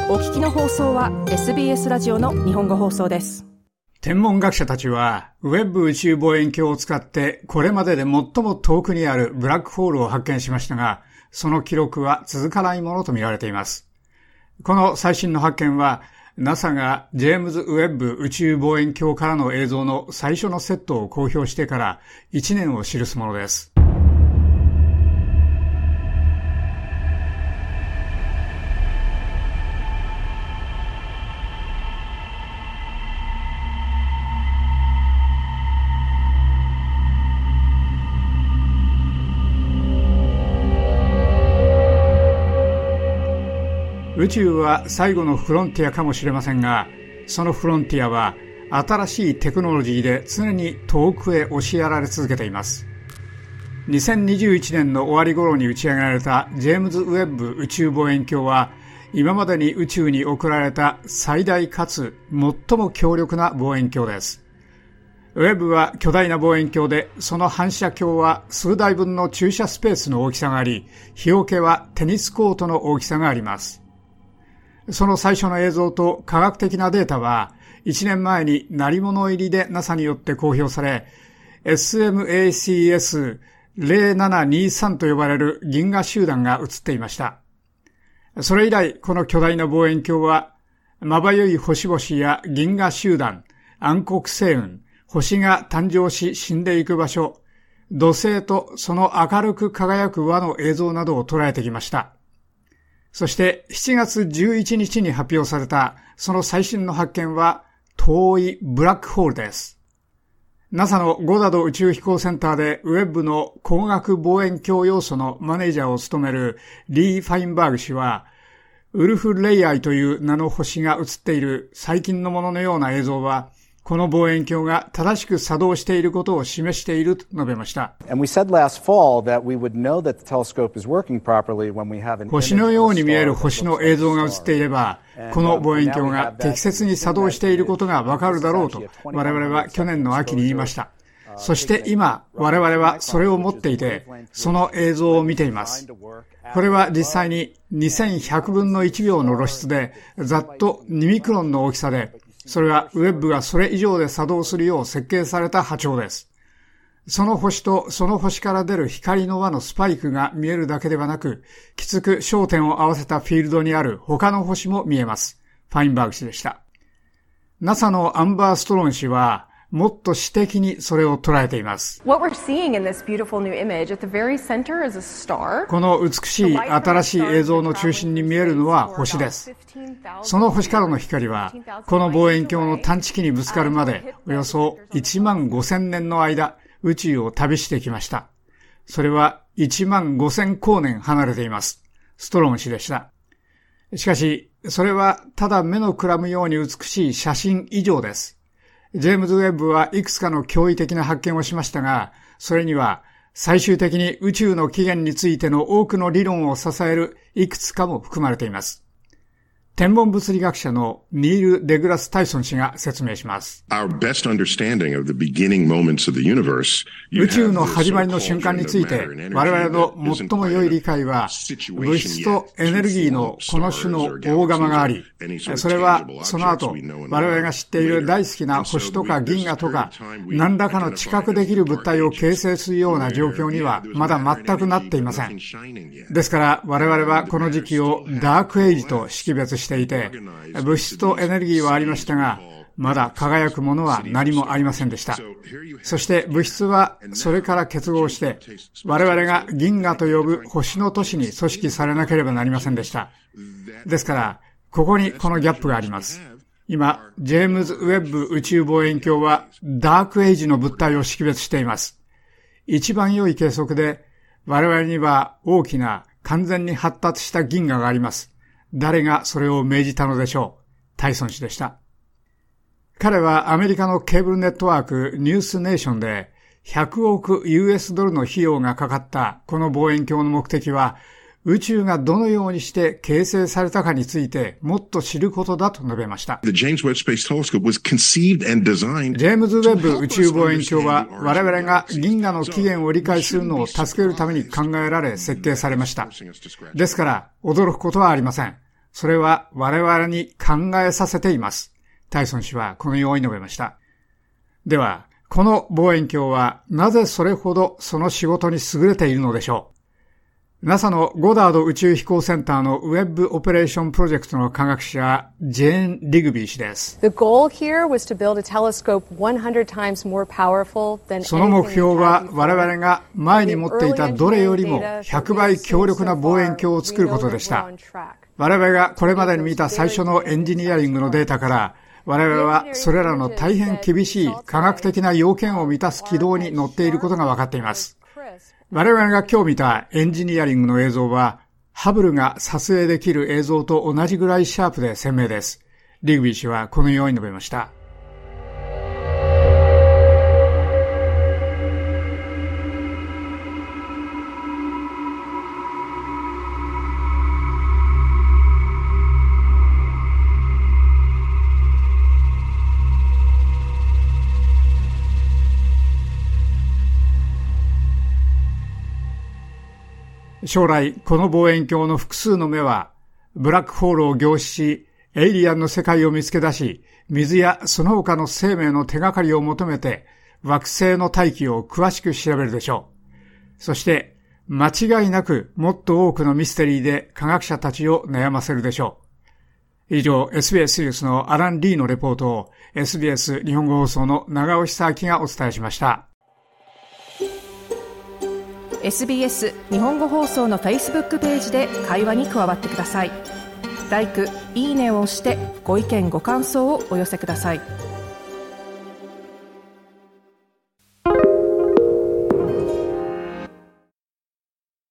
お聞きの放送は SBS ラジオの日本語放送です。 天文学者たちはウェッブ宇宙望遠鏡を使ってこれまでで最も遠くにあるブラックホールを発見しましたが、その記録は続かないものと見られています。この最新の発見は NASA がジェームズ・ウェッブ宇宙望遠鏡からの映像の最初のセットを公表してから1年を記すものです。宇宙は最後のフロンティアかもしれませんが、そのフロンティアは新しいテクノロジーで常に遠くへ押しやられ続けています。2021年の終わり頃に打ち上げられたジェームズ・ウェッブ宇宙望遠鏡は、今までに宇宙に送られた最大かつ最も強力な望遠鏡です。ウェッブは巨大な望遠鏡で、その反射鏡は数台分の駐車スペースの大きさがあり、日よけはテニスコートの大きさがあります。その最初の映像と科学的なデータは、1年前に鳴り物入りで NASA によって公表され、SMACS0723 と呼ばれる銀河集団が映っていました。それ以来、この巨大な望遠鏡は、まばゆい星々や銀河集団、暗黒星雲、星が誕生し死んでいく場所、土星とその明るく輝く輪の映像などを捉えてきました。そして7月11日に発表されたその最新の発見は遠いブラックホールです。NASA のゴダード宇宙飛行センターでウェッブの光学望遠鏡要素のマネージャーを務めるリー・ファインバーグ氏は、ウルフ・レイアイという名の星が映っている最近のもののような映像は、この望遠鏡が正しく作動していることを示していると述べました。星のように見える星の映像が映っていれば、この望遠鏡が適切に作動していることがわかるだろうと我々は去年の秋に言いました。そして今、我々はそれを持っていて、その映像を見ています。これは実際に2100分の1秒の露出で、ざっと2ミクロンの大きさで、それはウェッブがそれ以上で作動するよう設計された波長です。その星とその星から出る光の輪のスパイクが見えるだけではなく、きつく焦点を合わせたフィールドにある他の星も見えます。ファインバーグ氏でした。NASA のアンバー・ストロン氏は、もっと詩的にそれを捉えています。この美しい新しい映像の中心に見えるのは星です。その星からの光は、この望遠鏡の探知機にぶつかるまで、およそ1万5000年の間、宇宙を旅してきました。それは1万5000光年離れています。ストロン氏でした。しかし、それはただ目のくらむように美しい写真以上です。ジェームズ・ウェッブはいくつかの驚異的な発見をしましたが、それには最終的に宇宙の起源についての多くの理論を支えるいくつかも含まれています。天文物理学者のニール・デグラス・タイソン氏が説明します。宇宙の始まりの瞬間について我々の最も良い理解は、物質とエネルギーのこの種の大釜があり、それはその後我々が知っている大好きな星とか銀河とか何らかの知覚できる物体を形成するような状況にはまだ全くなっていません。ですから我々はこの時期をダークエイジと識別していて、物質とエネルギーはありましたが、まだ輝くものは何もありませんでした。そして物質はそれから結合して、我々が銀河と呼ぶ星の都市に組織されなければなりませんでした。ですから、ここにこのギャップがあります。今、ジェームズ・ウェッブ宇宙望遠鏡はダークエイジの物体を識別しています。一番良い計測で、我々には大きな完全に発達した銀河があります。誰がそれを命じたのでしょう。タイソン氏でした。彼はアメリカのケーブルネットワークニュースネーションで100億 US ドルの費用がかかったこの望遠鏡の目的は、宇宙がどのようにして形成されたかについてもっと知ることだと述べました。ジェームズ・ウェッブ宇宙望遠鏡は我々が銀河の起源を理解するのを助けるために考えられ設計されました。ですから驚くことはありません。 それは我々に考えさせています。タイソン氏はこのように述べました。では、この望遠鏡はなぜそれほどその仕事に優れているのでしょう。NASA のゴダード宇宙飛行センターのウェブオペレーションプロジェクトの科学者、ジェーン・リグビー氏です。その目標は我々が前に持っていたどれよりも100倍強力な望遠鏡を作ることでした。我々がこれまでに見た最初のエンジニアリングのデータから、我々はそれらの大変厳しい科学的な要件を満たす軌道に乗っていることが分かっています。我々が今日見たエンジニアリングの映像は、ハブルが撮影できる映像と同じぐらいシャープで鮮明です。リグビー氏はこのように述べました。将来、この望遠鏡の複数の目は、ブラックホールを凝視し、エイリアンの世界を見つけ出し、水やその他の生命の手がかりを求めて、惑星の大気を詳しく調べるでしょう。そして、間違いなくもっと多くのミステリーで科学者たちを悩ませるでしょう。以上、SBS ニュースのアラン・リーのレポートを SBS 日本語放送の長尾久明がお伝えしました。 SBS 日本語放送の Facebook ページで会話に加わってください。LIKE、いいねを押してご意見ご感想をお寄せください。